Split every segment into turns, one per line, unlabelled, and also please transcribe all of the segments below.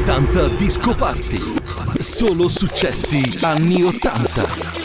80 Disco Party. Solo successi anni 80.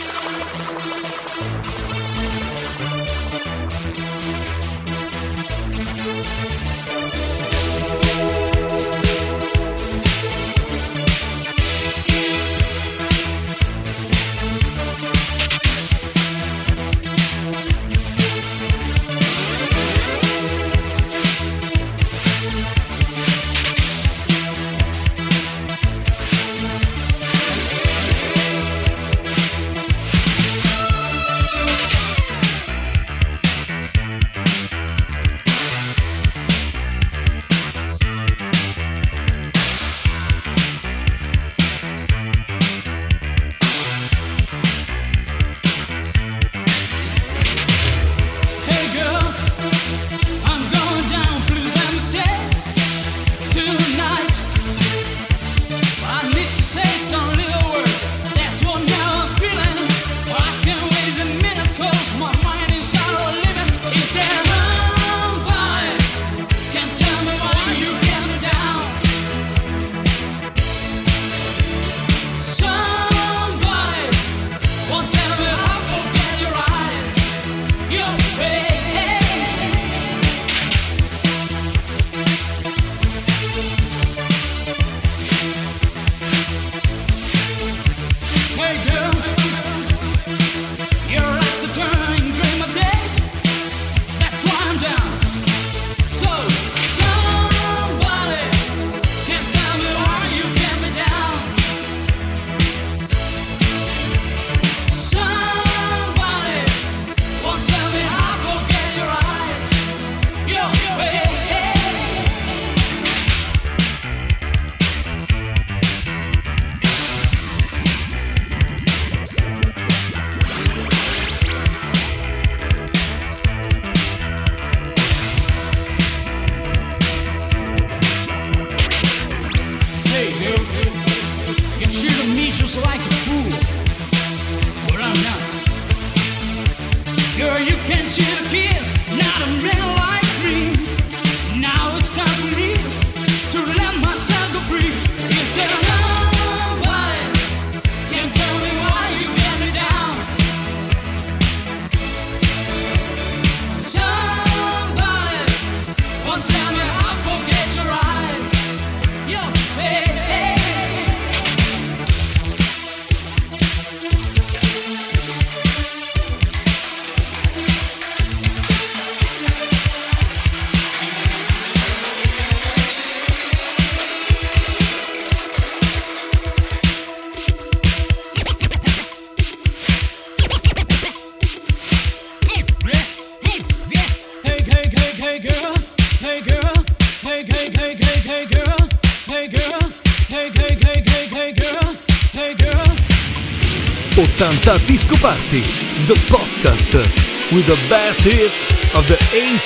Disco Party, the podcast with the best hits of the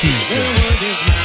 80s.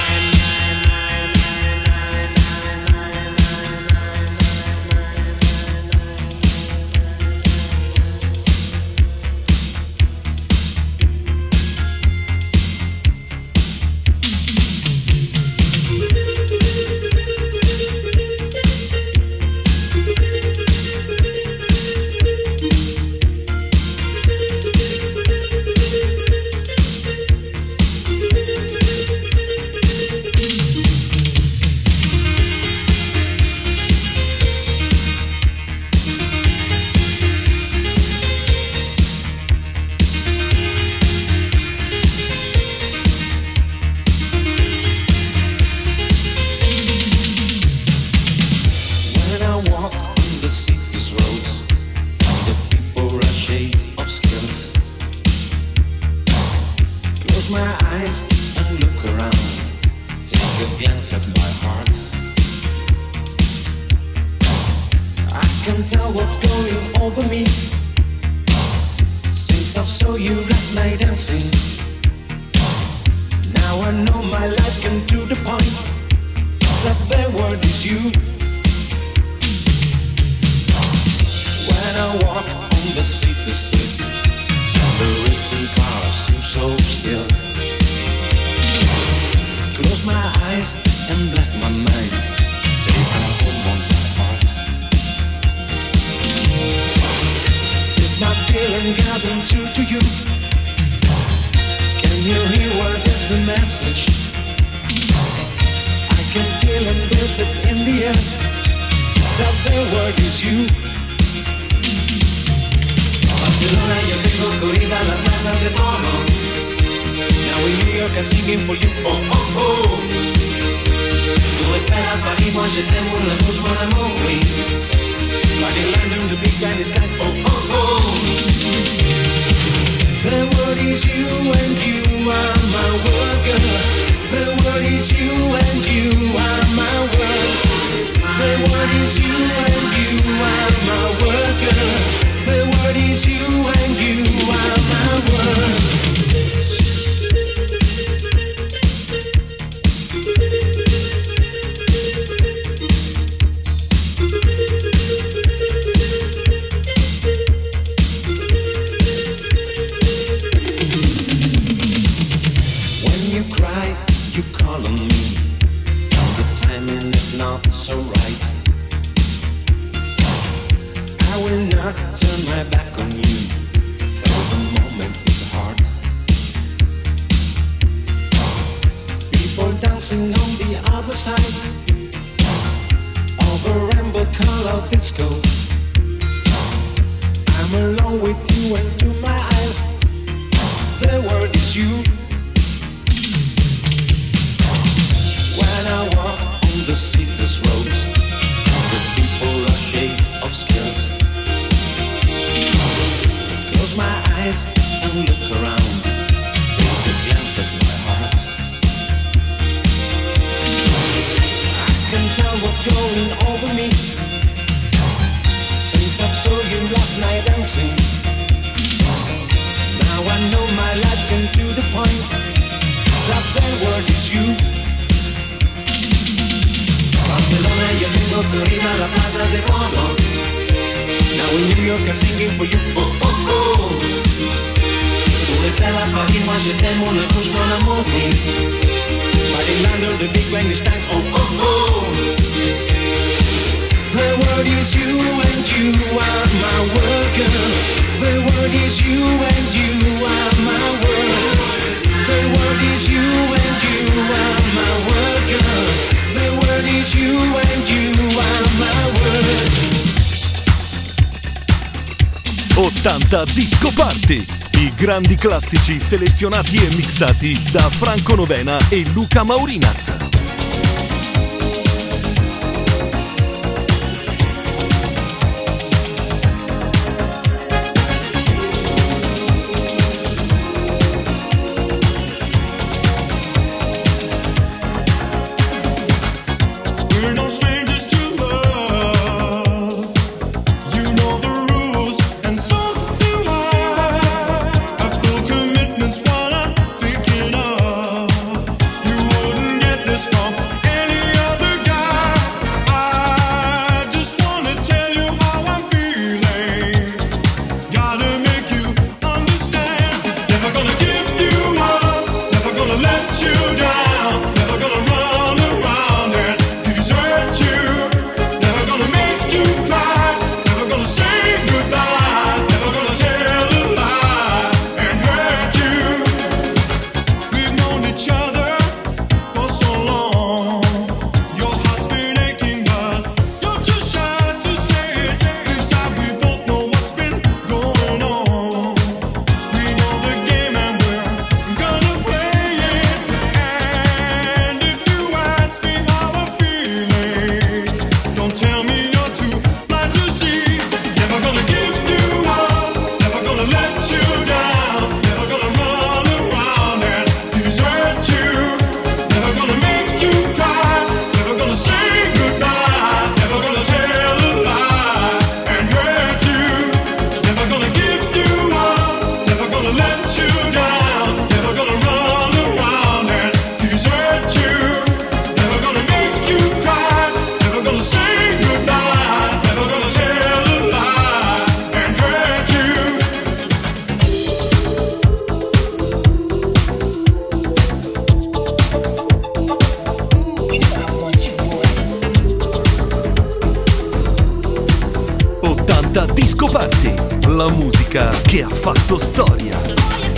Close my eyes and let my mind take a hold on my heart. and got them true to you. Can you hear what is the message? I can feel and breathe it in the air, that the word is you. Barcelona, yo tengo corrida la plaza de Toro. Now in New York I'm singing for you, oh oh oh. Tour Eiffel à Paris, moi je t'aime pour la bouche, mon amour, oui. But in London the big band is like, oh oh oh. The word is you and you are my word, girl. The word is you and you are my word. The word is you and you are my word, girl. The word is you and you are my word. When you cry, you call on me. The timing is not so right. I will not turn my back on you, though the moment is hard. People dancing on the other side of a rainbow color disco. I'm alone with you and through my eyes, the word is you. When I walk on the city's roads, the people are shades of skills. Close my eyes and look around, take a glance at my heart. I can tell what's going over me, since I saw you last night dancing. Now I know my life came to the point that the word is you. Barcelona, yo tengo corrida la plaza de Toro. Now in New York I'm singing for you, oh oh oh. Tour Eiffel à Paris, moi je t'aime, on le bouge mon amour, oui. But in London the big band is time, oh oh oh. The word is you and you are my word, girl. The word is you and you are my word. The word is you and you are my word, girl. The word is you and you are my word.
80 Disco Party, i grandi classici selezionati e mixati da Franco Novena e Luca Maurinaz.
We're no strangers to love. You know the rules, and so do I. Full commitment's what I'm thinking of. You wouldn't get this
80 Disco Party, la musica che ha fatto storia.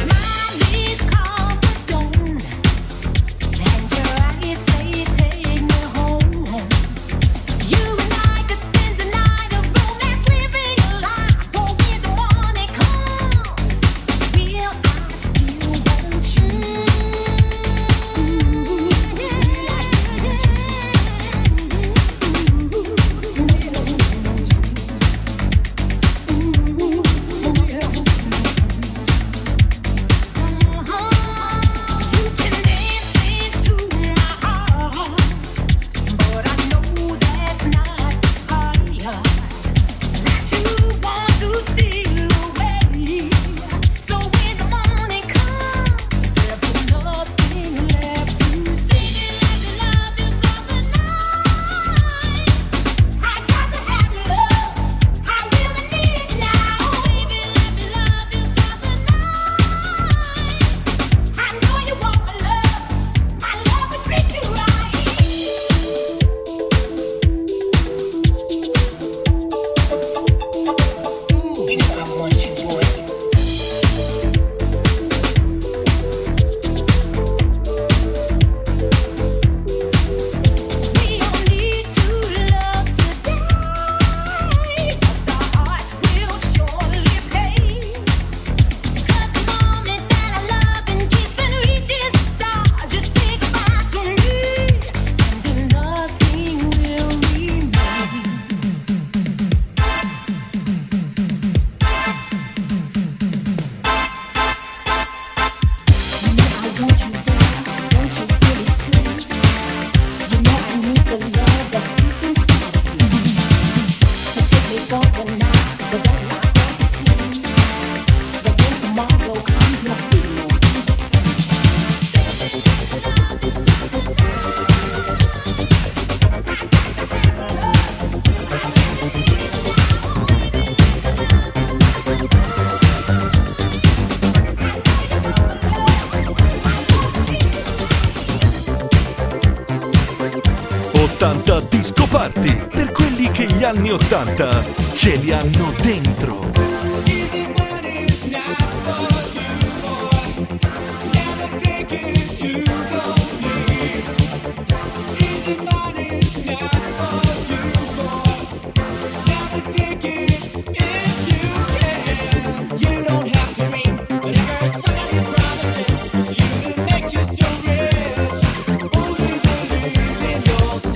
Disco Party, per quelli che gli anni 80 ce li hanno dentro.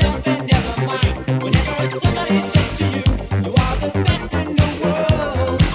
Somebody says to you, you are the best in the world.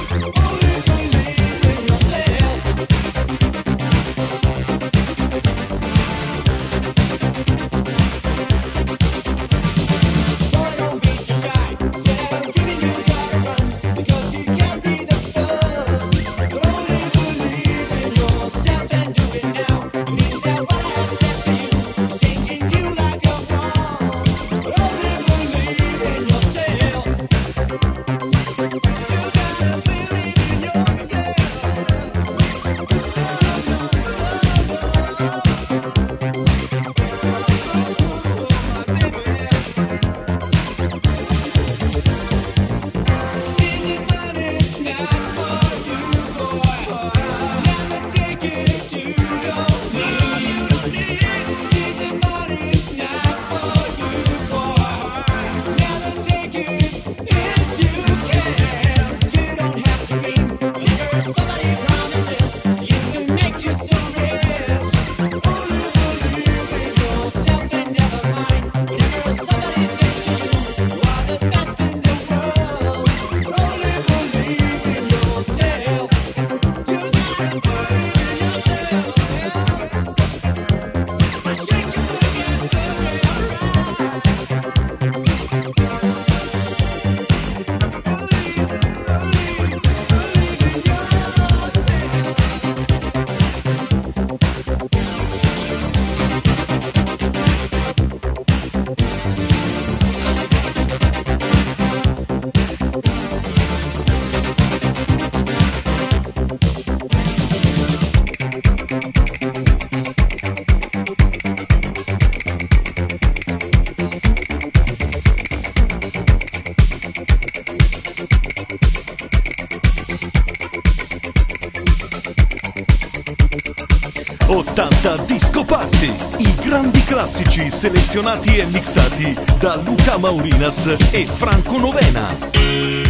80 Disco Party, i grandi classici selezionati e mixati da Luca Maurinaz e Franco Novena.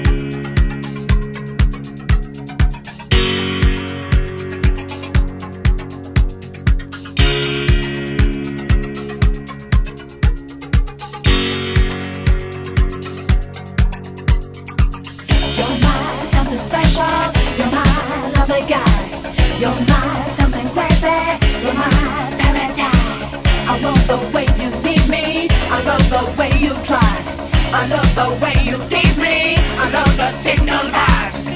You're my something crazy, you're my paradise. I love the way you leave me, I love the way you try, I love the way you tease me, I love the signal vibes.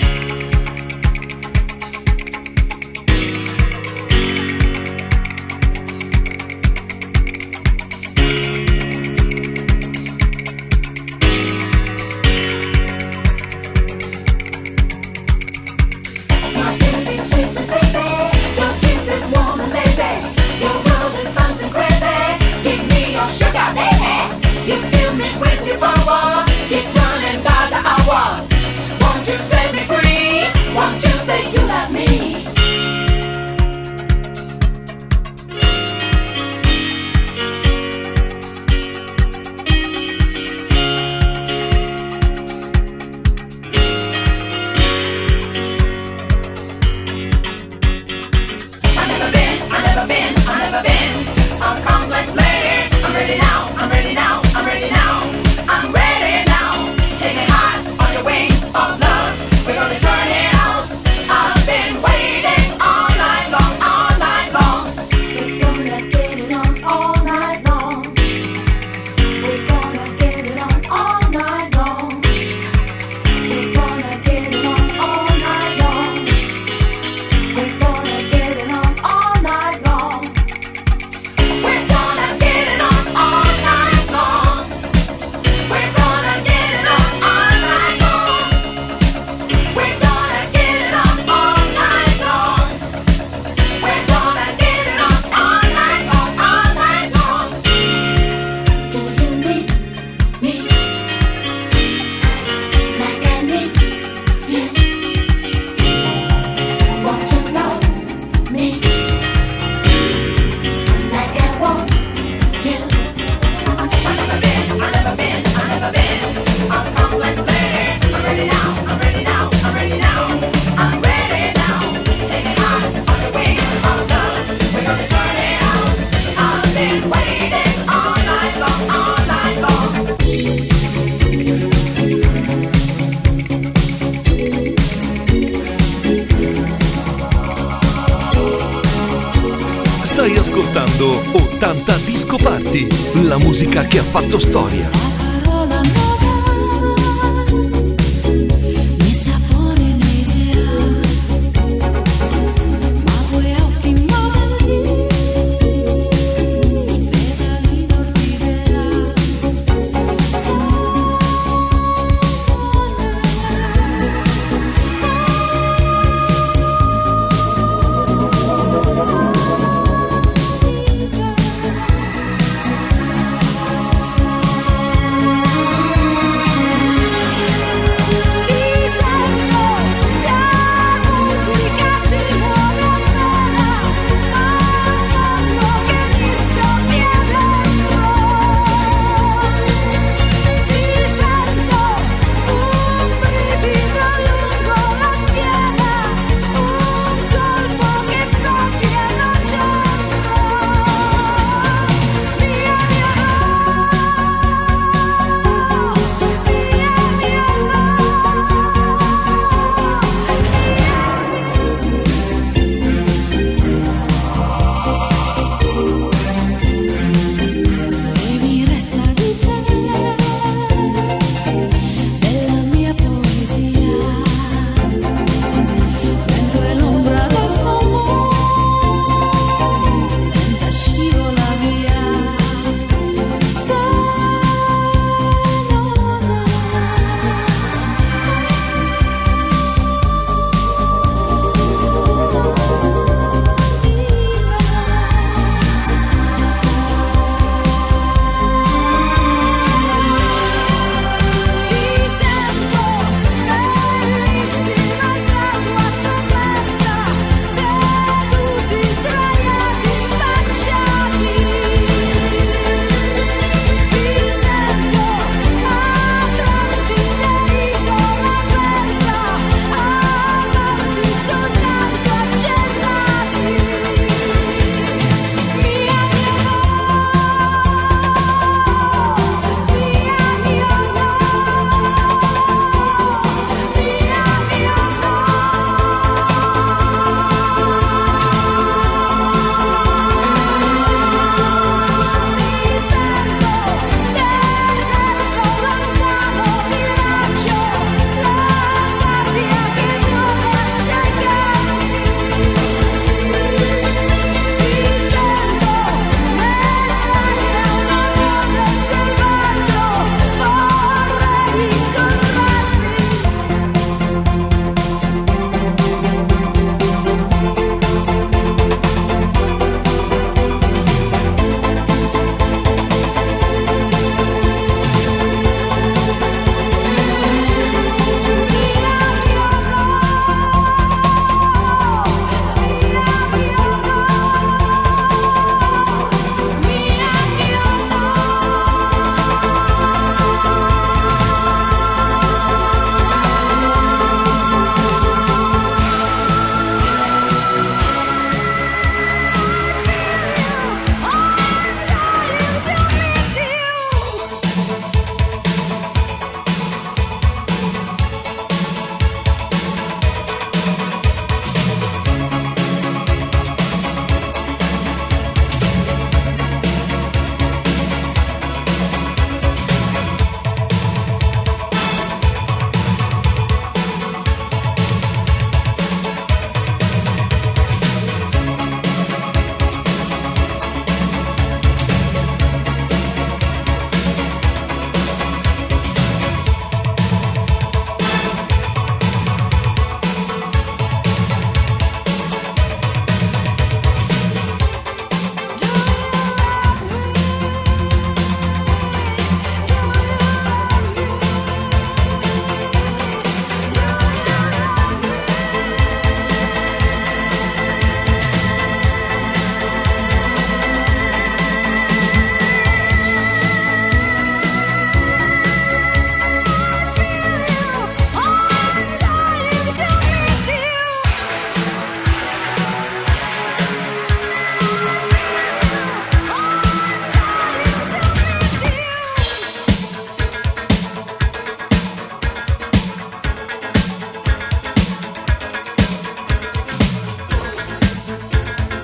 Stai ascoltando 80 Disco Party, la musica che ha fatto storia.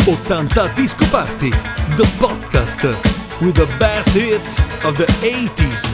80 Disco Party, the podcast with the best hits of the 80s.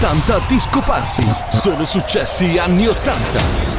80 Disco Party. Solo successi anni 80.